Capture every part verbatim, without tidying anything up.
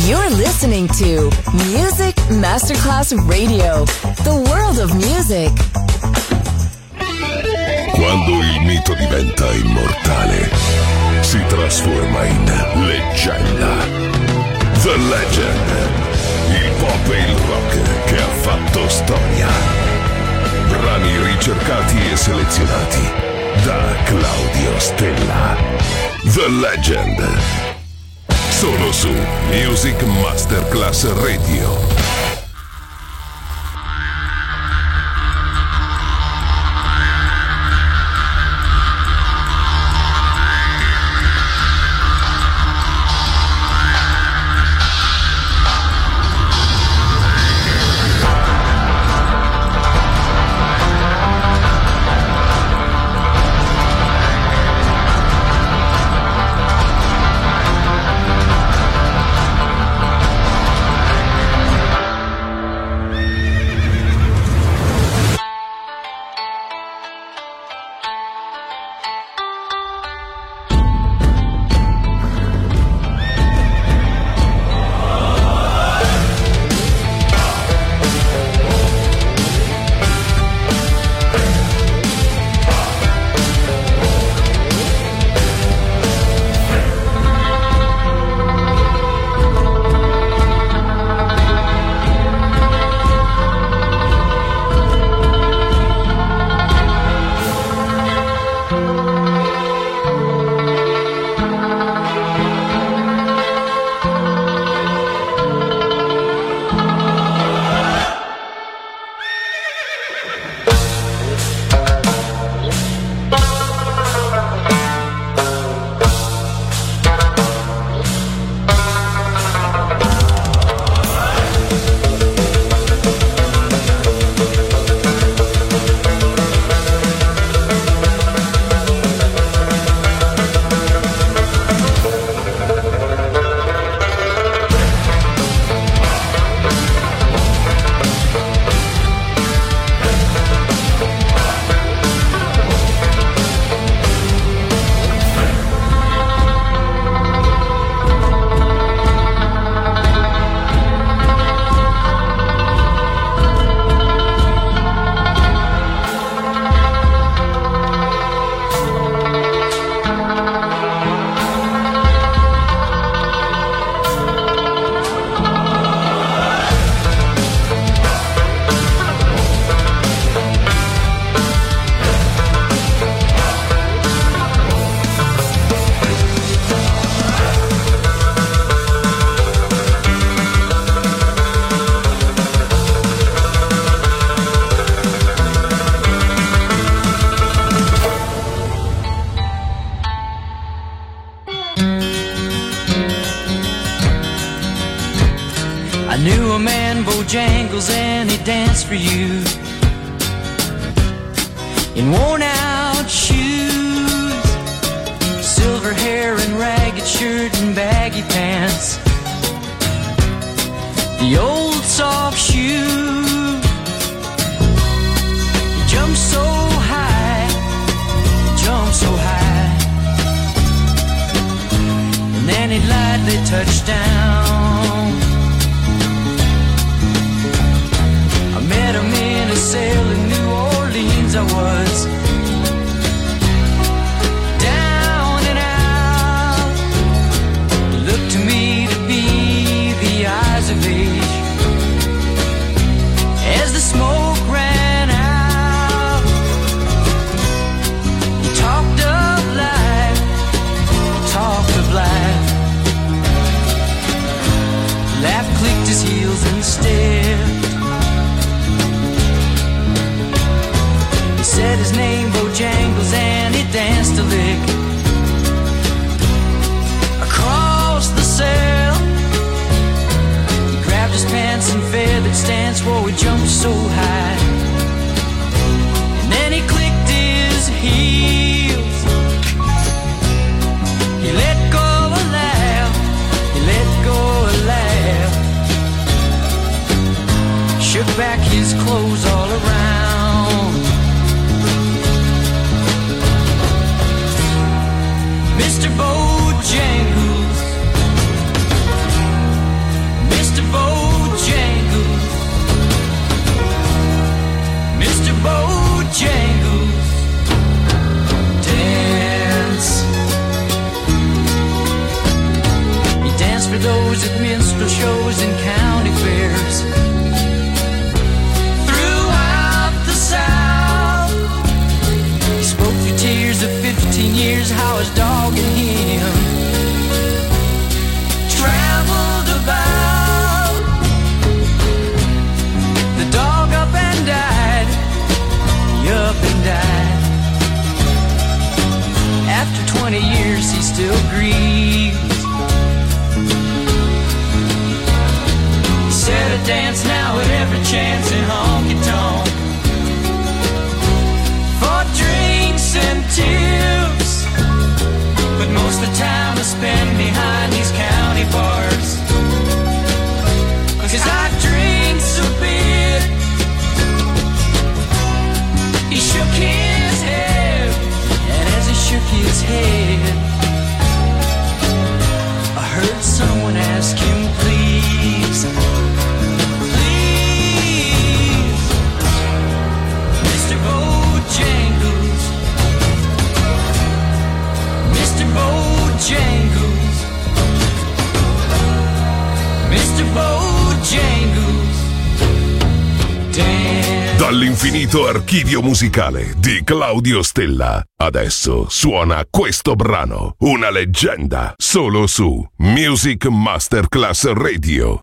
You're listening to Music Masterclass Radio, the world of music. Quando il mito diventa immortale, si trasforma in leggenda. The Legend, il pop e il rock che ha fatto storia. Brani ricercati e selezionati da Claudio Stella. The Legend. Solo su Music Masterclass Radio. For you in worn out shoes, silver hair and ragged shirt and baggy pants, the old soft shoe. He jumped so high, jumped so high, and then he lightly touched down. Met him in a sail in New Orleans. I was down and out. He looked to me to be the eyes of age. As the smoke ran out, he talked of life, he talked of life. Laugh clicked his heels and stared. Said his name, Bojangles, and he danced a lick across the sail. He grabbed his pants and feathered stance, whoa, he jumped so high. And then he clicked his heels. He let go a laugh, he let go a laugh. Shook back his clothes all around. Mister Bojangles, those at minstrel shows and county fairs. Throughout the South, he spoke through tears of fifteen years how his dog and him traveled about. The dog up and died, he up and died. After twenty years he still grieves. He said I dance now at every chance in honky-tonk for drinks and tips, but most of the time I spend behind these county bars, 'cause I drink so big. He shook his head, and as he shook his head, I heard someone ask him, please, please, Mister Bojangles, Mister Bojangles, Mister Bojangles, damn. Dall'infinito archivio musicale di Claudio Stella, adesso suona questo brano, una leggenda, solo su Music Masterclass Radio.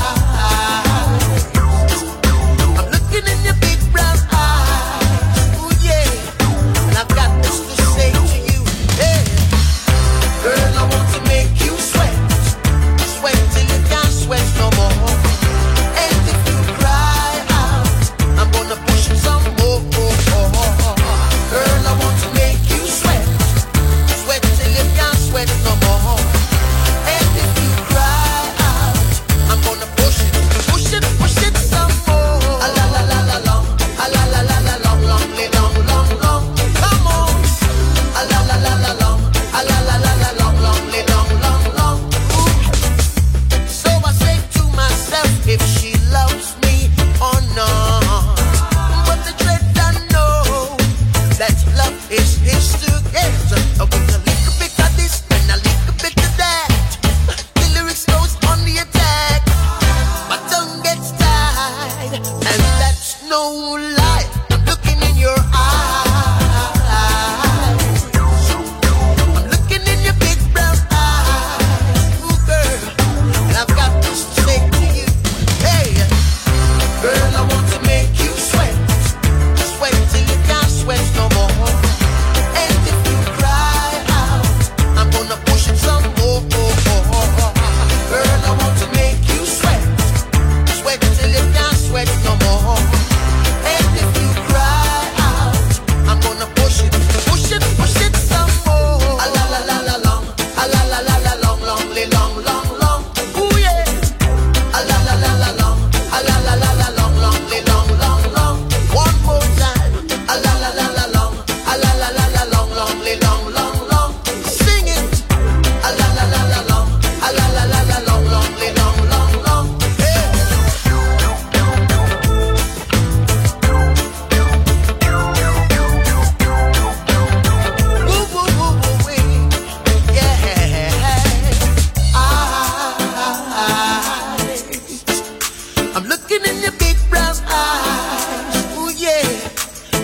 Looking in your big brown eyes.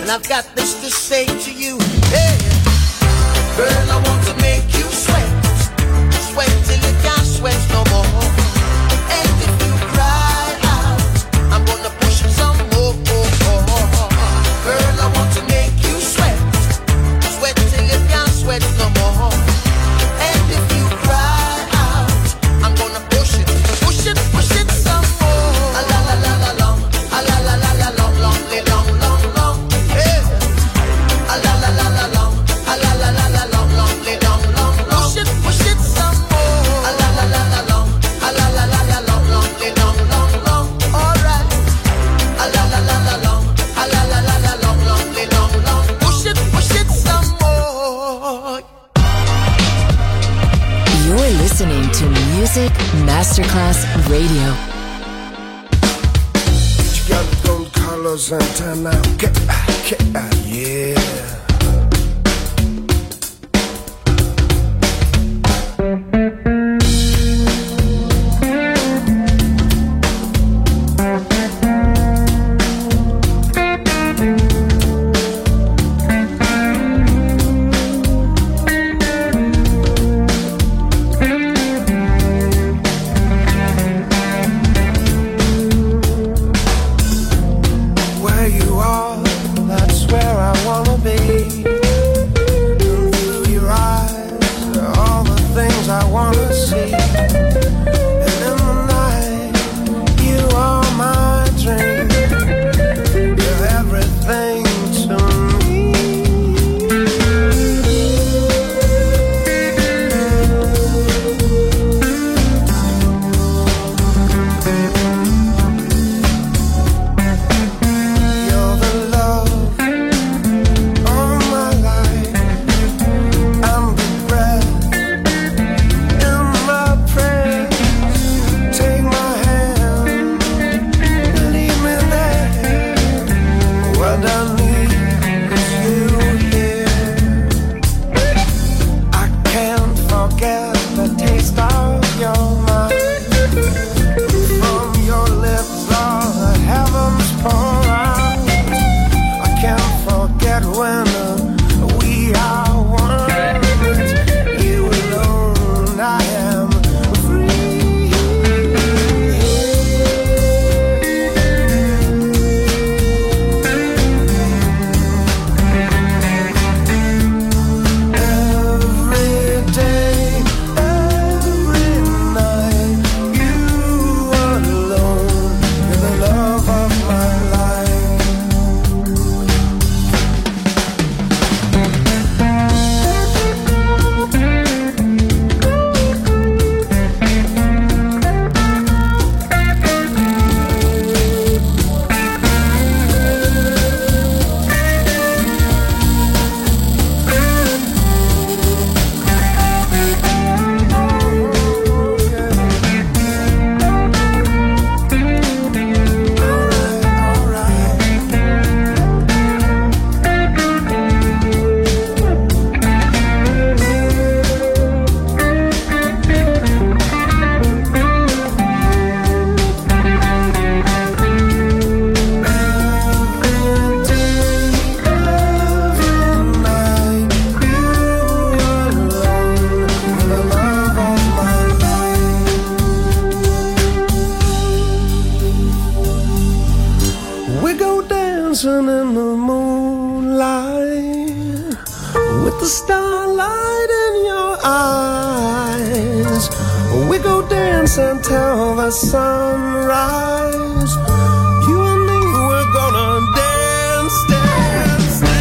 And I've got this to say to you, hey, girl, I want to make you sweat, sweat till you can't sweat no more. And if you cry out, I'm gonna push it some more. Girl, I want to make you sweat, sweat till you can't sweat no more. And if you cry out, I'm gonna push it, push it, push it some more. A la la la la long, a la la la la long, long, long, long, long, yeah. A la la la la long, a la la la la long, long, long, long, long. Push it, push it some more. A la la la la long, a la la la la long, long, long, long, long. All right. A la la la la long, a la la la la long, long, long, long. Push it, push it some more. You're listening to Music Masterclass Radio. You got gold colors and turn out, get, get, yeah. Where you are, that's where I wanna be. And through your eyes, all the things I wanna see. And in the night, you are my dream. You're everything to me. You're the love of my life. I'm the breath in my prayers. Take my hand, lead me there. What I need is you here. I can't forget the taste of your mind. From your lips, all the heavens pour out. I can't forget when uh, we are one. It's you alone, I am free. Every day, every night, you alone, you're the love of my life. We go dancing in the moonlight with the starlight in your eyes. We go dancing till the sunrise. You and me, we're gonna dance, dance, dance.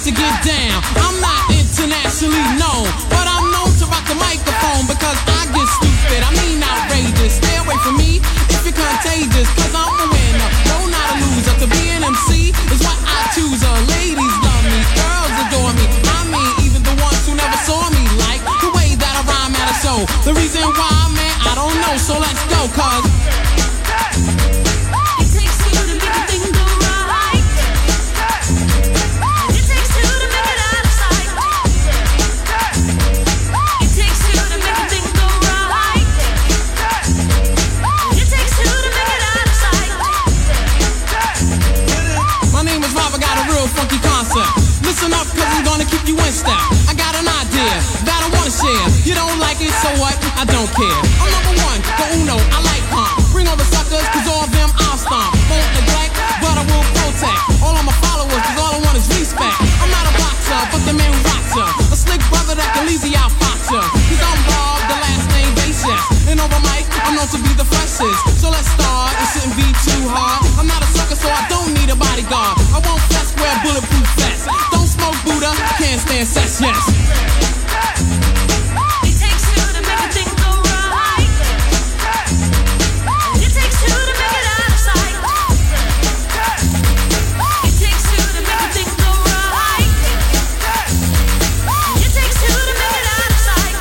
to get down. I'm not internationally known, but I'm known to rock the microphone because I get stupid, I mean outrageous. Stay away from me if you're contagious, cause I'm a winner, no not a loser. To be an M C is what I choose. Uh, ladies love me, girls adore me, I mean even the ones who never saw me like the way that I rhyme at a show. The reason why, man, I don't know, so let's go, cause it takes two to make a thing go right. It takes two to make it out of sight. It takes two to make a thing go right. It takes two to make it out of sight. My name is Rob, I got a real funky concept. Listen up, cause I'm gonna keep you in step. I got an idea that I wanna share. You don't like it, so what? I don't care. I'm number one, the uno, I like pump. Bring all the suckers, cause all of them I'll stomp. Won't neglect, but I will protect all of my followers, cause all I want is respect. I'm not a boxer, but the man who rocks ya. A slick brother that can easy out fox ya. Cause I'm Rob, the last name Basis. And over mic, I'm known to be the freshest. So let's start, it shouldn't be too hard. I'm not a sucker, so I don't need a bodyguard. I won't fess, wear bulletproof vests. Don't smoke Buddha, can't stand sex, yes. It takes two to make a thing go right. It takes two to make it out of sight. It takes two to make a thing go right. It takes two to make it out of sight.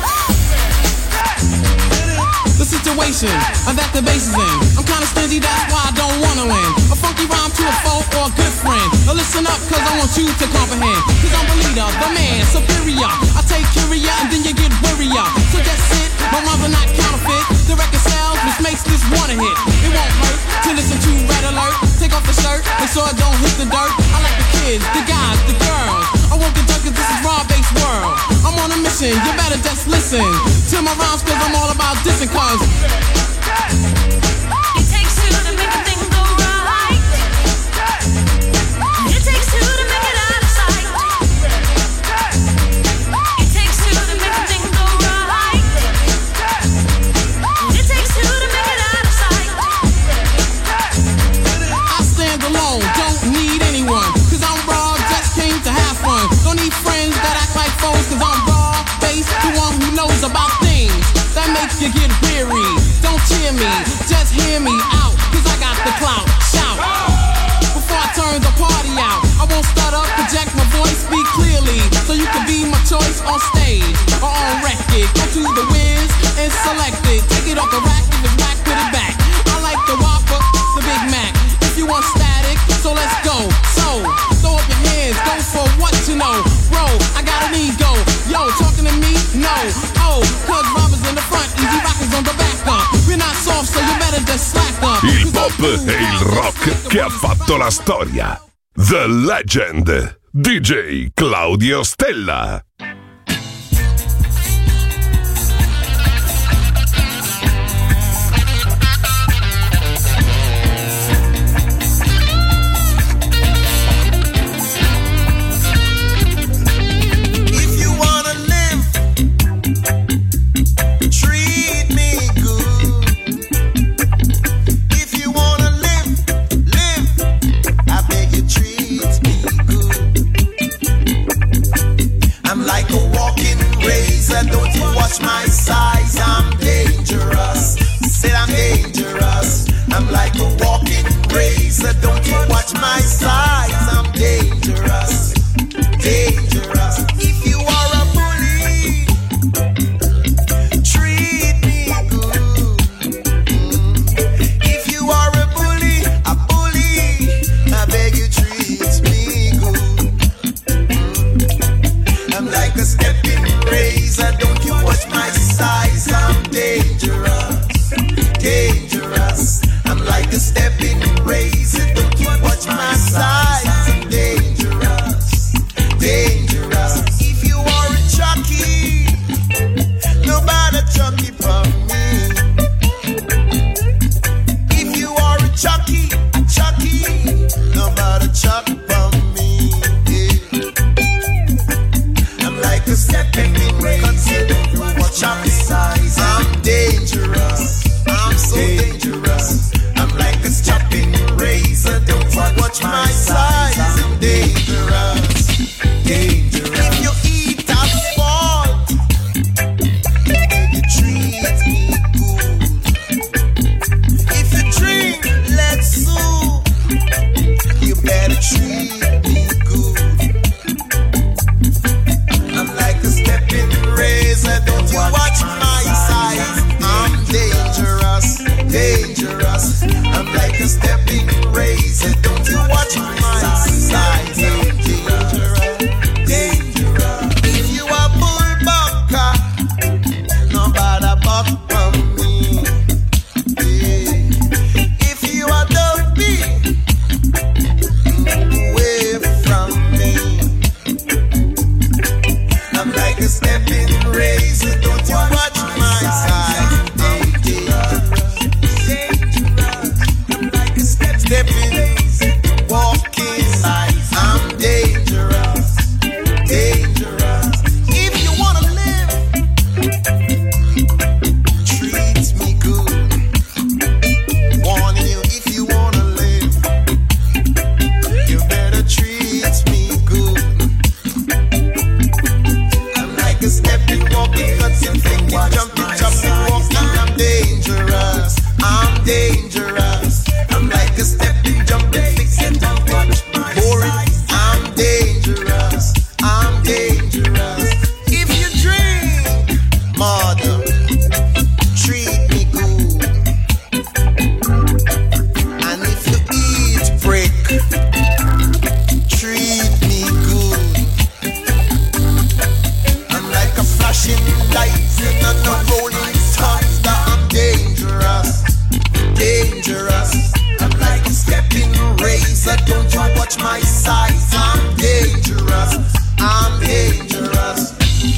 The situation that the bass is in, I'm kinda stingy, that's why I don't wanna win. A funky rhyme to a foe or a good friend. Now listen up, cause I want you to comprehend. Cause I'm the leader, the man, superior. I take curia and then you get worrier. So just sit, my rhymes are not counterfeit. The record sells, which makes this one a hit. It won't hurt to listen to Red Alert. Take off the shirt, make sure it don't hit the dirt. I like the kids, the guys, the girls. I won't get cause this is raw-based world. I'm on a mission, you better just listen to my rhymes, cause I'm all about dissing, cause it takes two to make a thing go right. It takes two to make it out of sight. It takes two to make a thing go right. It takes two to make it out of sight. I stand alone, don't need anyone, cause I'm raw, just came to have fun. Don't need friends that act like foes, cause I'm raw, based, the one who knows about things that make you get weary. Don't cheer me, just hear me out, cause I got the clout, shout. Before I turn the party out, I won't stutter, project my voice, speak clearly, so you can be my choice on stage or on record. Go to the whiz and select it, take it off the rack, if it's whack, put it back. I like the Whopper, the Big Mac. If you want static, so let's go. So, throw up your hands, go for what you know. Bro, I got an ego, yo, talking to me? No, oh, cause Robbers in the front, easy rockers on the back up. We're not soft, so you better just slack up. Il pop e il rock che ha fatto la storia. The Legend, D J Claudio Stella. I'm better treat me good. I'm like a stepping razor, don't you watch my size. I'm dangerous, dangerous. I'm like a stepping razor, don't you watch my size. I'm dangerous, dangerous. If you are bullbucker, nobody buck from me. Yeah. If you are dopey, away from me. I'm like a stepping razor, don't you watch my side. I'm dangerous, dangerous. I'm like a step stepping, walking life. I'm dangerous, dangerous. If you wanna live, treat me good. Warning you, if you wanna live, you better treat me good. I'm like a stepping, walking, cutting, thinking, jumping, jumping, walking. I'm dangerous, I'm dangerous. I'm like a stepping, jumping, fixing, boring. I'm dangerous, I'm dangerous. If you drink, mother, treat me good. And if you eat brick, treat me good. I'm like a flashing light in a rolling thunder. I'm dangerous, dangerous. I'm like a stepping razor, don't you watch my size. I'm dangerous, I'm dangerous.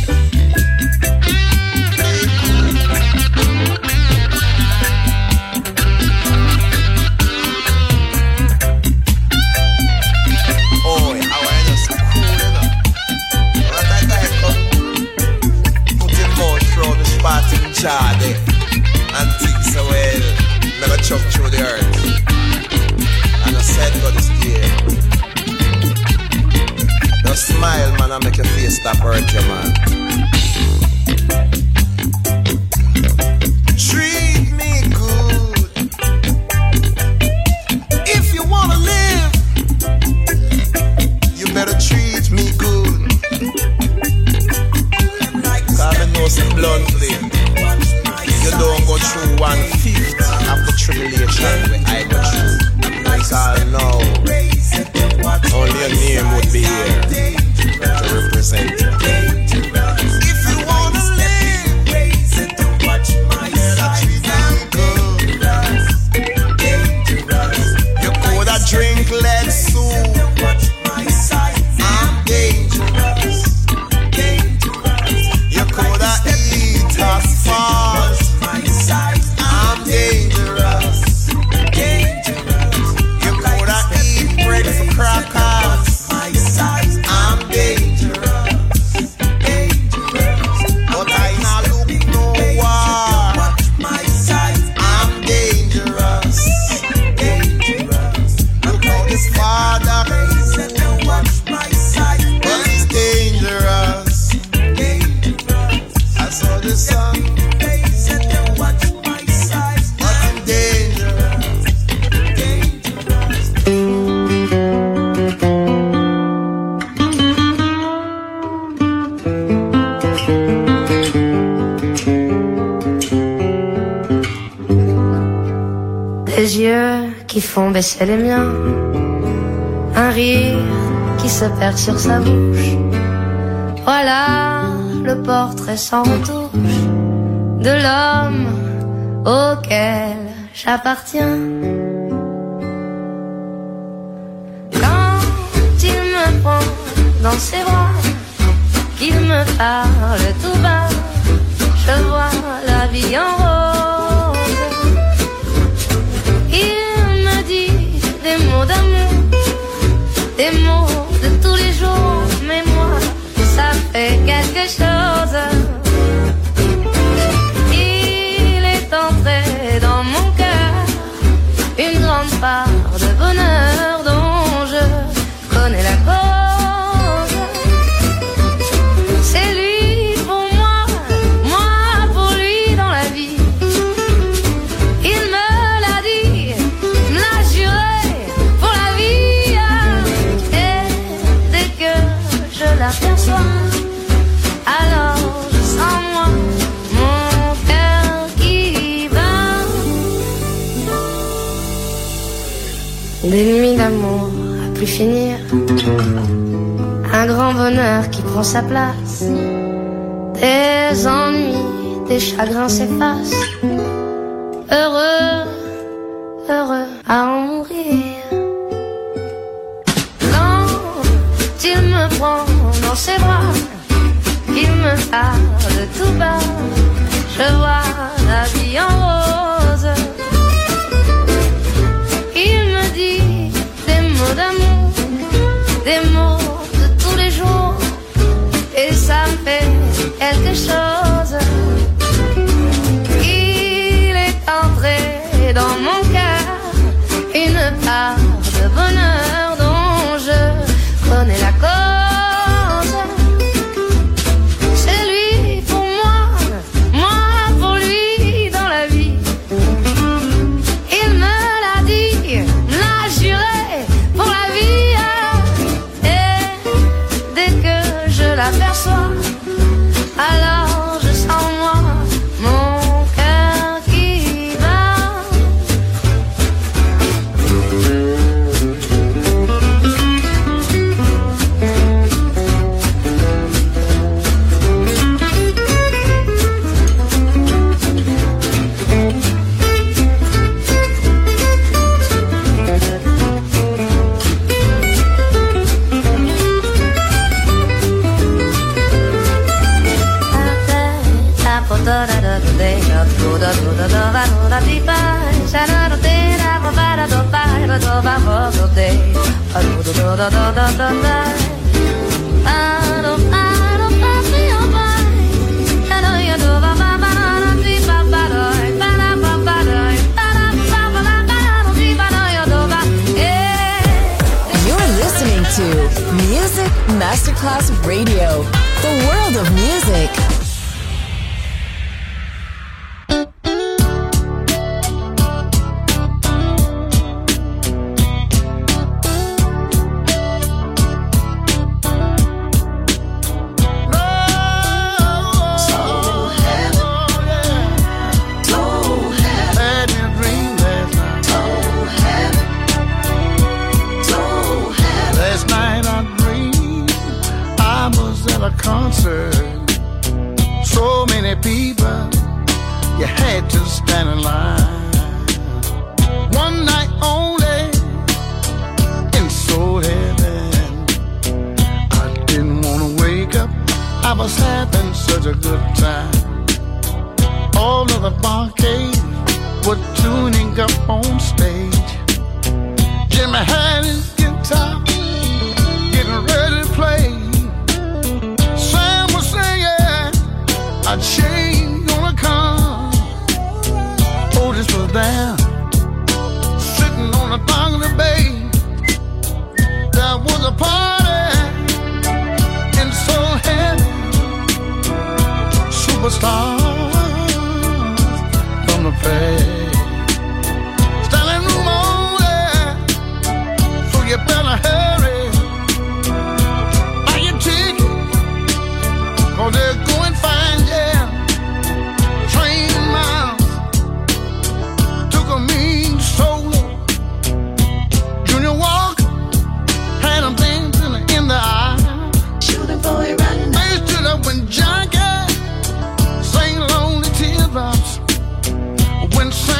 Oh, how I just cool enough. What I got come put him out through the spot in jar there and think so well. Never chuck through the earth. And I said God is there. Just smile, man, and make your face stop hurt you, man. Treat me good. If you wanna live, you better treat me good. Cause I know some bluntly, you don't go through one fifth of the tribulation where I go through. Because I know only your name would be here to represent you. If you wanna live, you better treat me good. You coulda drink lead soup. I'm dangerous, dangerous. You coulda eat asphalt. I'm dangerous, dangerous. You coulda eat bread for crackers. I'm dangerous, dangerous. But I not look no war. I'm dangerous, dangerous. Look how this father but he's dangerous, dangerous. I saw the sun. Des yeux qui font baisser les miens, un rire qui se perd sur sa bouche. Voilà le portrait sans retouche de l'homme auquel j'appartiens. Quand il me prend dans ses bras, qu'il me parle tout bas, je vois la vie en rose. Il me dit des mots d'amour, des mots de tous les jours, mais moi, ça fait quelque chose. Il est entré dans mon cœur une grande part de bonheur dont je connais la cause. C'est lui pour moi, moi pour lui dans la vie. Des nuits d'amour à plus finir, un grand bonheur qui prend sa place, des ennuis, des chagrins s'effacent, heureux, heureux à en mourir. Quand il me prend dans ses bras, il me parle tout bas, je vois la vie en rose. Il me dit des mots d'amour, des mots de tous les jours, et ça me fait quelque chose. Il est entré dans mon cœur une part de bonheur dont je connais la cause. C'est lui pour moi, moi pour lui dans la vie. Il me l'a dit, me l'a juré pour la vie. Et dès que je l'aperçois, alors je sens en moi mon cœur qui bat. You're listening to Music Masterclass Radio, the world of music. Concert, so many people, you had to stand in line. One night only in Soul Heaven. I didn't want to wake up, I was having such a good time. All of the barcades were tuning up on stage. Jimmy had his guitar, getting ready to play. A change gonna come. Otis was there, sitting on the dock of the bay. There was a party in Soul Heaven. Superstars from the past, standing room only, so you better hurry. Buy your ticket, 'cause they're going fine. When John Gay sang Lonely Teardrops, when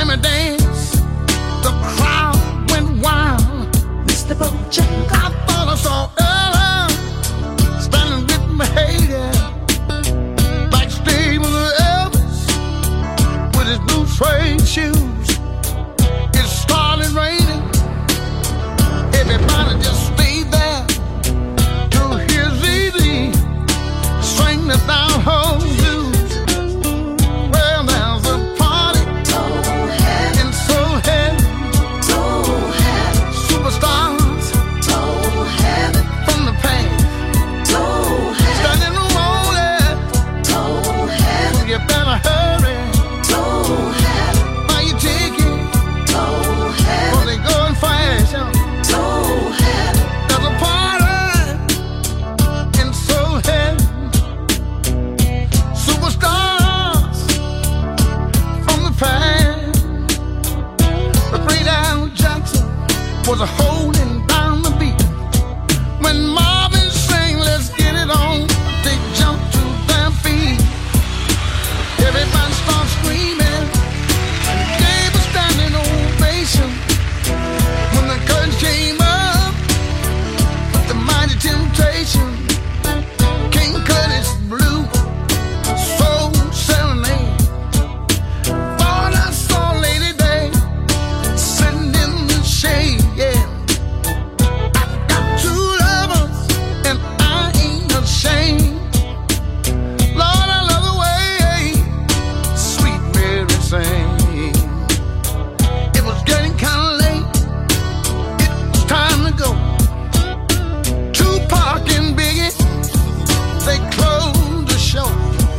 was holding down the beat. When Marvin sang, let's get it on, they jumped to their feet. Everybody started screaming and gave a standing ovation. When the curtain came up with the mighty Temptation, King Curtis blew Soul Serenade. Thought I saw Lady Day sitting in the shade, yeah. I got two lovers and I ain't ashamed. Lord, I love the way Sweet Mary sang. It was getting kinda late, it was time to go. Tupac and Biggie, they closed the show.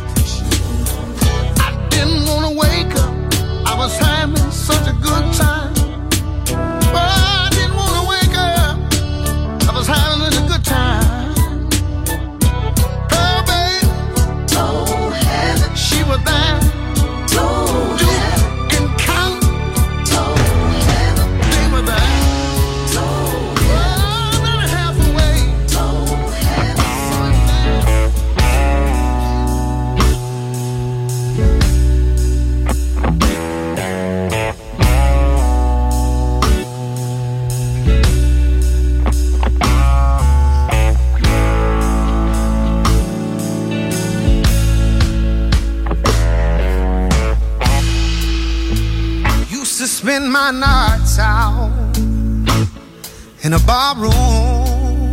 I didn't wanna wake up, I was having such a good time. But I didn't wanna wake up, I was having such a good time. Pearl babe, told heaven, she was there. Told heaven, and count, told heaven, they were there. Told heaven, oh, not a half away. Told heaven. Used to spend my nights out in a bar room.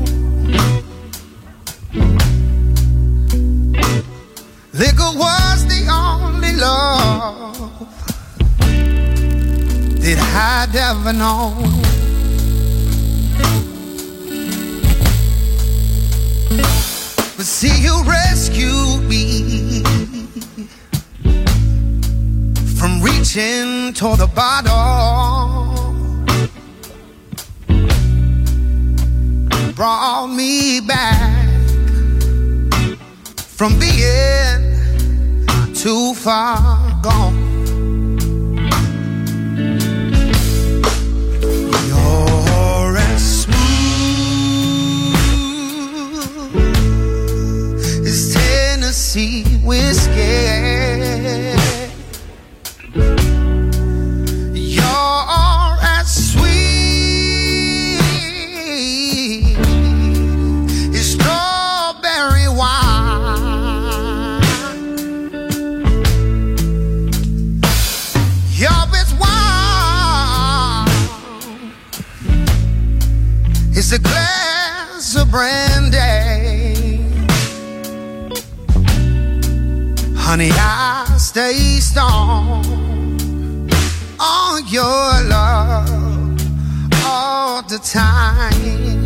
Liquor was the only love that I'd ever known. But see, you rescued me from reaching toward the bottom. Brought me back from being too far gone. You're as smooth as Tennessee whiskey. You're as sweet as strawberry wine. You're as warm as a glass of brandy. Honey, I stay strong on your love all the time.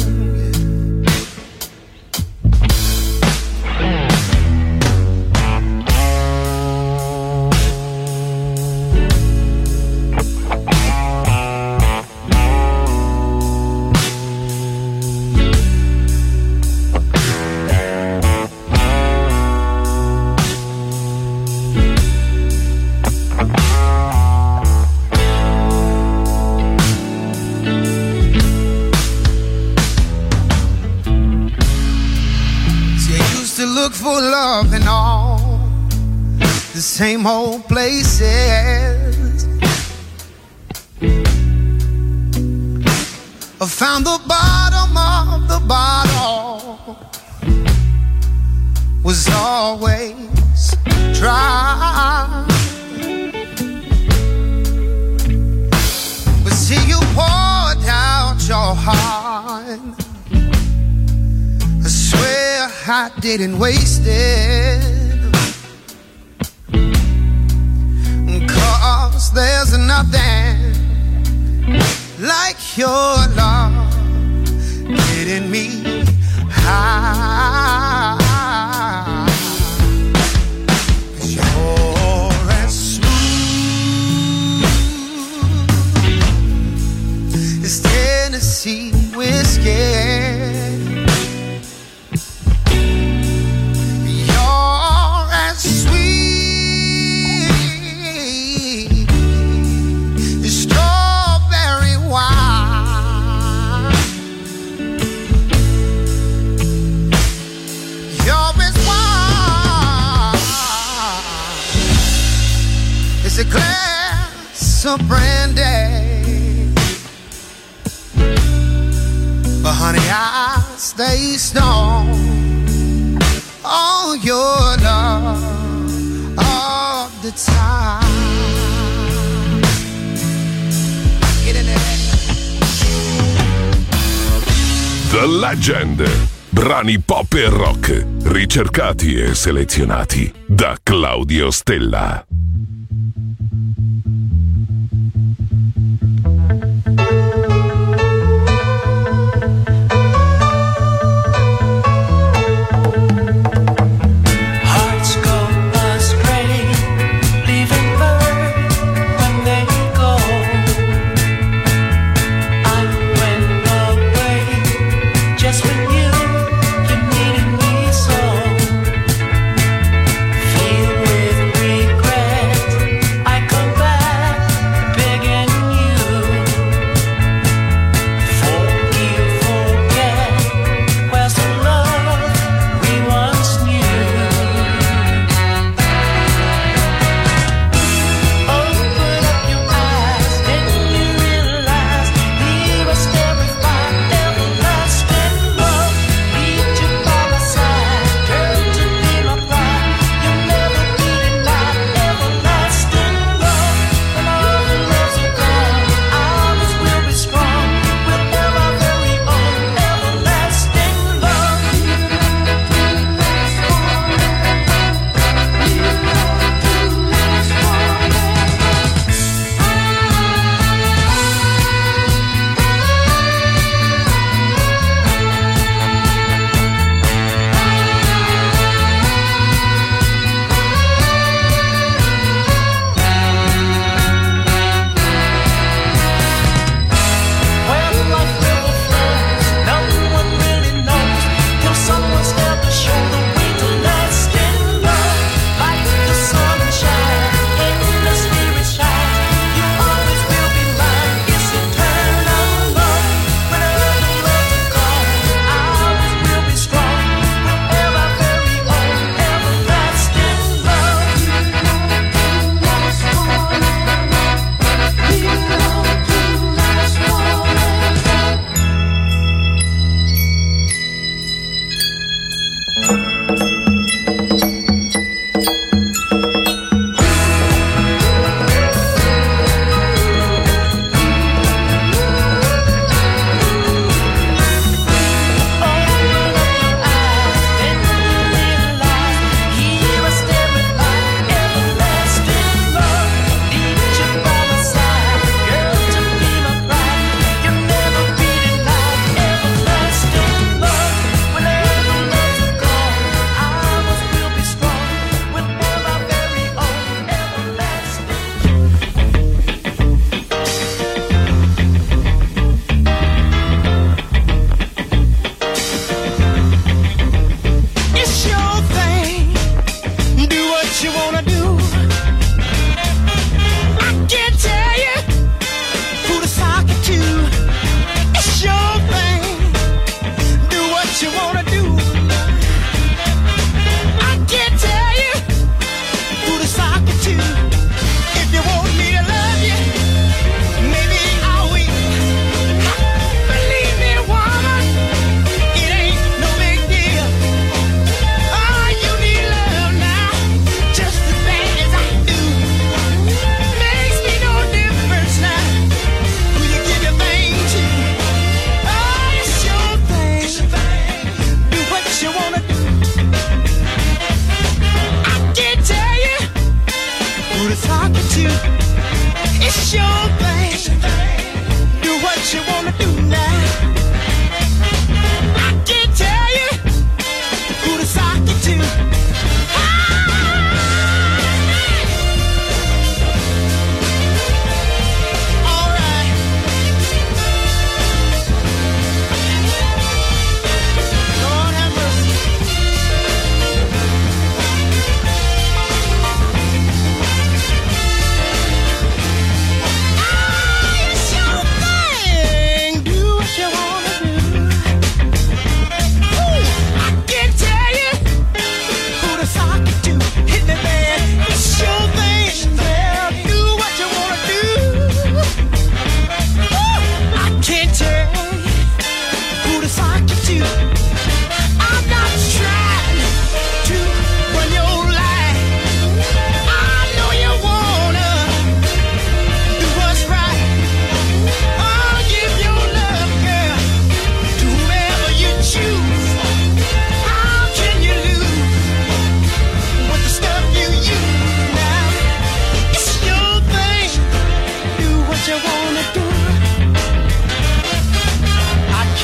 Look for love in all the same old places. I found the bottom of the bottle was always dry. But see, you poured out your heart. I swear I didn't waste it, 'cause there's nothing like your love getting me high. 'Cause you're as smooth as Tennessee whiskey. Strawberry wine. of brandy. But honey, I stay strong on your love all the time. Get in there. The Legend. Brani pop e rock, ricercati e selezionati da Claudio Stella. Feel with regret.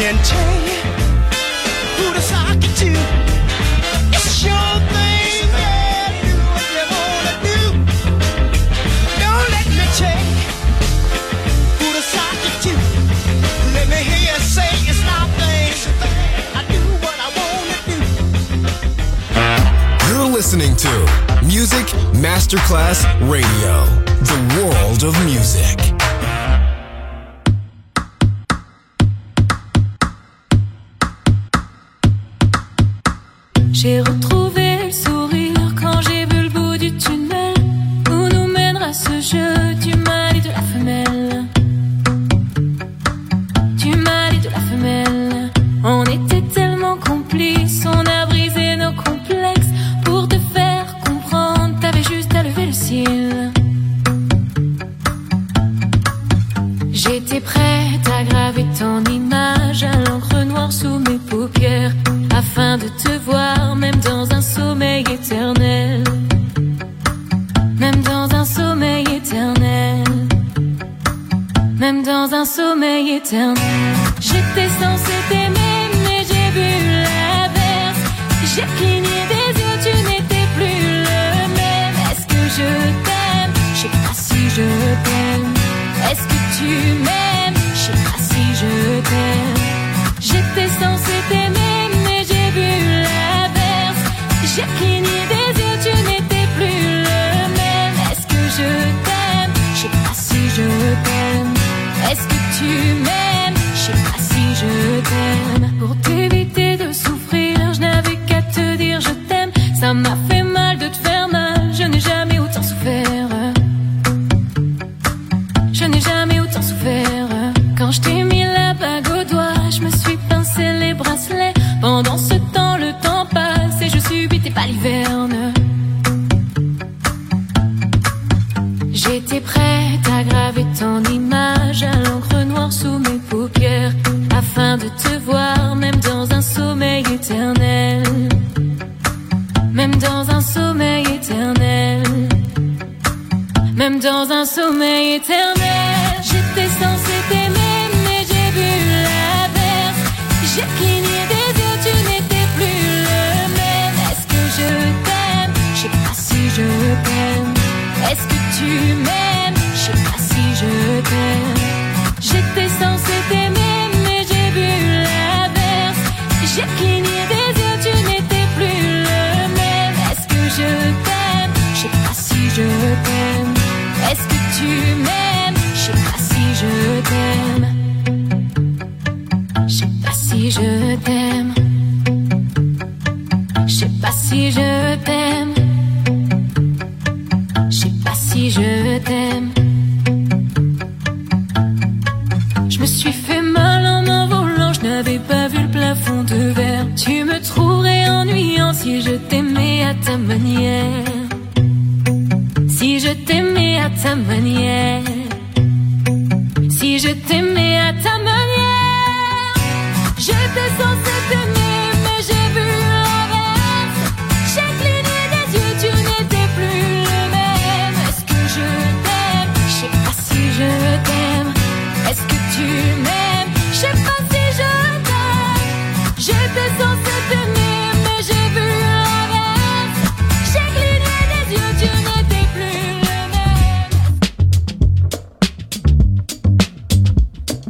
can tell you who to sock it to. It's your thing, yeah, do what you wanna do. Don't let me tell you who to sock it to. Let me hear you say it's my thing. I do what I wanna do. You're listening to Music Masterclass Radio, the world of music. J'ai retrouvé le sourire quand j'ai vu le bout du tunnel où nous mènera ce jeu du mâle et de la femelle. Du mâle et de la femelle. On était tellement complices, on a brisé nos complexes. Pour te faire comprendre, t'avais juste à lever le cil. J'étais prête à graver ton image à l'encre noire sous mes paupières, afin de te voir même dans un sommeil éternel. Même dans un sommeil éternel. Même dans un sommeil éternel. J'étais censée t'aimer mais j'ai vu l'inverse. J'ai cligné des yeux, tu n'étais plus le même. Est-ce que je t'aime? Je sais pas si je t'aime. Est-ce que tu m'aimes? Je sais pas si je t'aime. J'étais censée t'aimer mais j'ai vu l'inverse. J'ai cligné des yeux, tu n'étais plus le même. Est-ce que je t'aime? Je sais pas si je t'aime. Est-ce que tu m'aimes? Je sais pas si je t'aime. Pour t'éviter de souffrir, je n'avais qu'à te dire je t'aime. Ça m'a fait mal de te faire mal, je n'ai jamais autant souffert. Je n'ai jamais autant souffert. Quand je t'ai mis la bague au doigt, je me suis pincé les bracelets. Pendant ce temps, le temps passe et je subis tes balivernes. J'étais prête à graver ton image à l'encre noire sous mes paupières, afin de te voir même dans un sommeil éternel. Même dans un sommeil éternel. Même dans un sommeil éternel. J'étais censée t'aimer mais j'ai vu l'inverse. J'ai cligné des yeux, tu n'étais plus le même. Est-ce que je t'aime? Je sais pas si je t'aime. Est-ce que tu m'aimes? Je sais pas si je t'aime. J'étais censée t'aimer mais j'ai vu l'inverse. J'ai cligné des yeux, tu n'étais plus le même. Est-ce que je t'aime? Je sais pas si je t'aime. Est-ce que tu m'aimes? Je sais pas si je t'aime. Je sais pas si je t'aime. Je sais pas si je t'aime. Je sais pas si je t'aime. Je me suis fait mal en m'envolant, je n'avais pas vu le plafond de verre. Tu me trouverais ennuyant si je t'aimais à ta manière. Si je t'aimais à ta manière. Si je t'aimais à ta manière. J'étais censée t'aimer mais j'ai vu l'inverse. J'ai cligné des yeux, tu n'étais plus le même. Est-ce que je t'aime? Je sais pas si je t'aime. Est-ce que tu m'aimes? Je sais pas si je t'aime. J'étais censée t'aimer mais j'ai vu l'inverse. J'ai cligné des yeux, tu n'étais plus le même.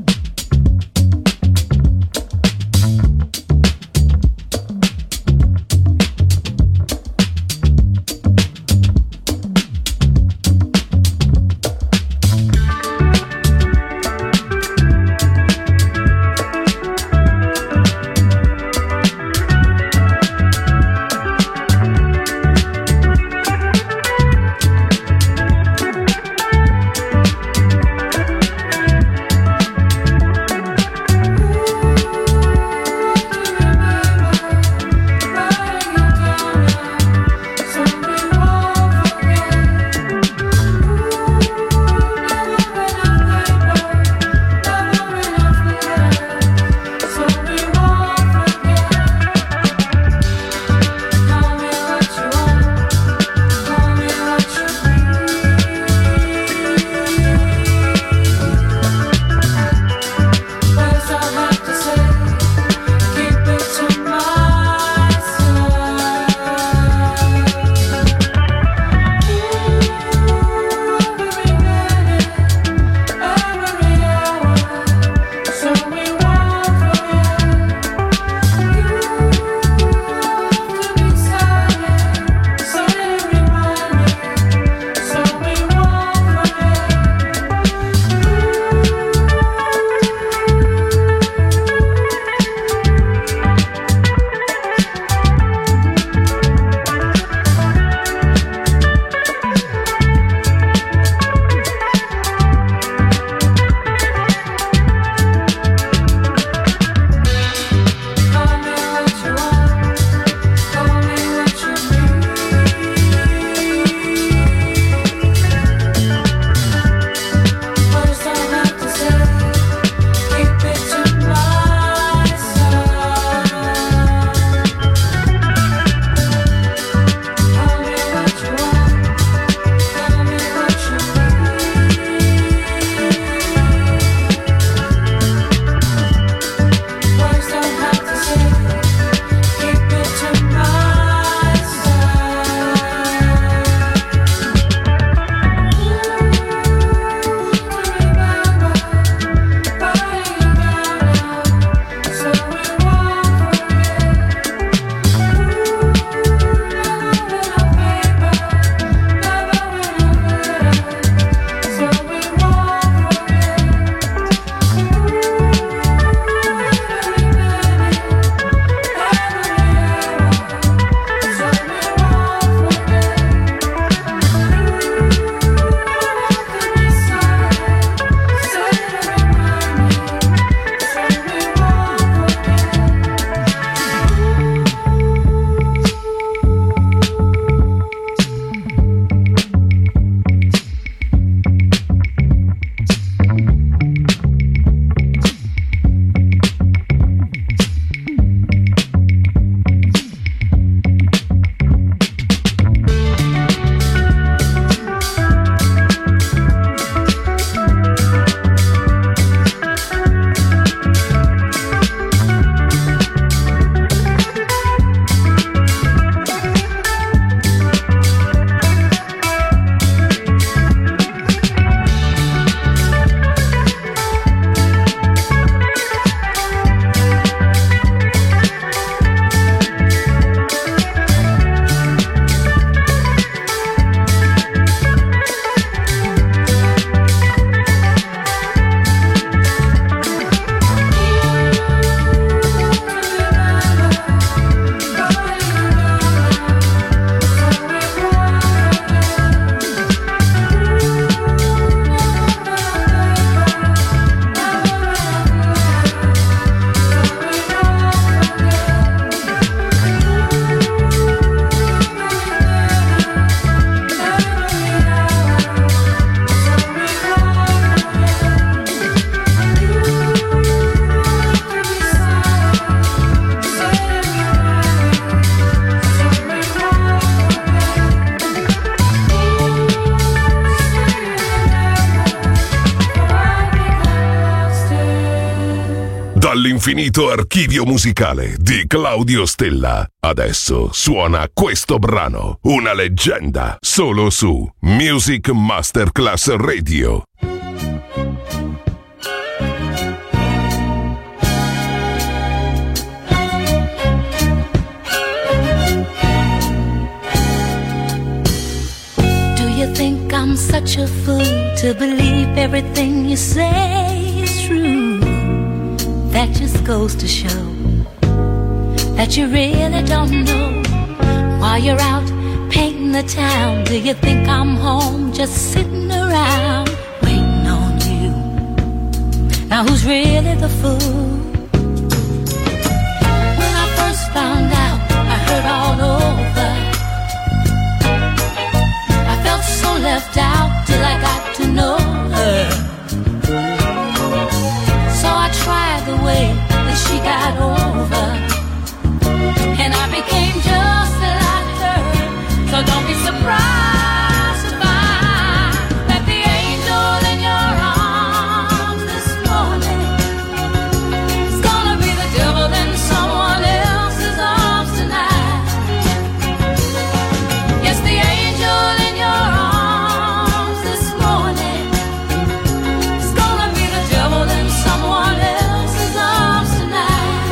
Dall'infinito archivio musicale di Claudio Stella. Adesso suona questo brano, una leggenda, solo su Music Masterclass Radio. Do you think I'm such a fool to believe everything you say is true? That just goes to show that you really don't know. While you're out painting the town, do you think I'm home just sitting around waiting on you? Now who's really the fool? When I first found out, I heard all over. I felt so left out till I got to know her. So I tried the way that she got over, and I became just like her. So don't be surprised to find that the angel in your arms this morning is gonna be the devil in someone else's arms tonight. Yes, the angel in your arms this morning is gonna be the devil in someone else's arms tonight.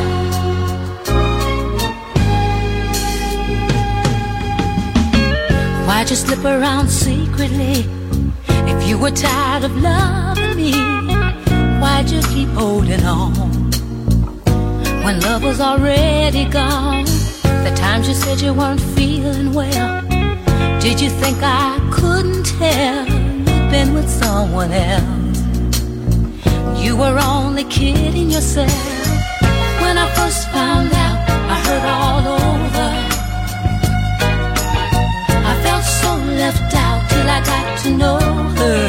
Why'd you slip around secretly? If you were tired of loving me, why'd you keep holding on when love was already gone? The times you said you weren't feeling well, did you think I couldn't tell you'd been with someone else? You were only kidding yourself. When I first found out, I heard all over. I felt so left out till I got to know her.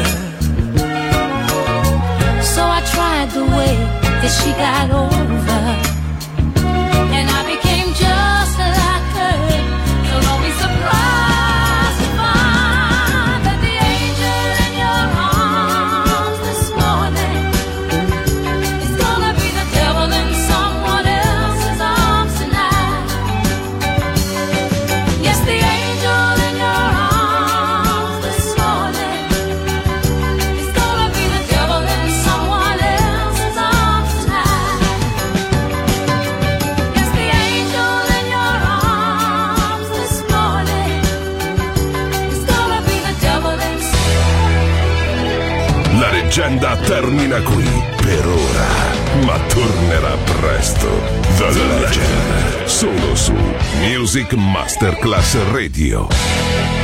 So I tried the way that she got over, and I became just like her. So don't be surprised to find that the angel in your arms this morning is gonna be the devil in someone else's arms tonight. Yes, the angel in your arms this morning is gonna be the devil in someone else's arms tonight. Yes, the angel in your arms this morning is gonna be the devil in La leggenda termina qui per ora, ma tornerà presto. The Legend, solo su Music Masterclass Radio.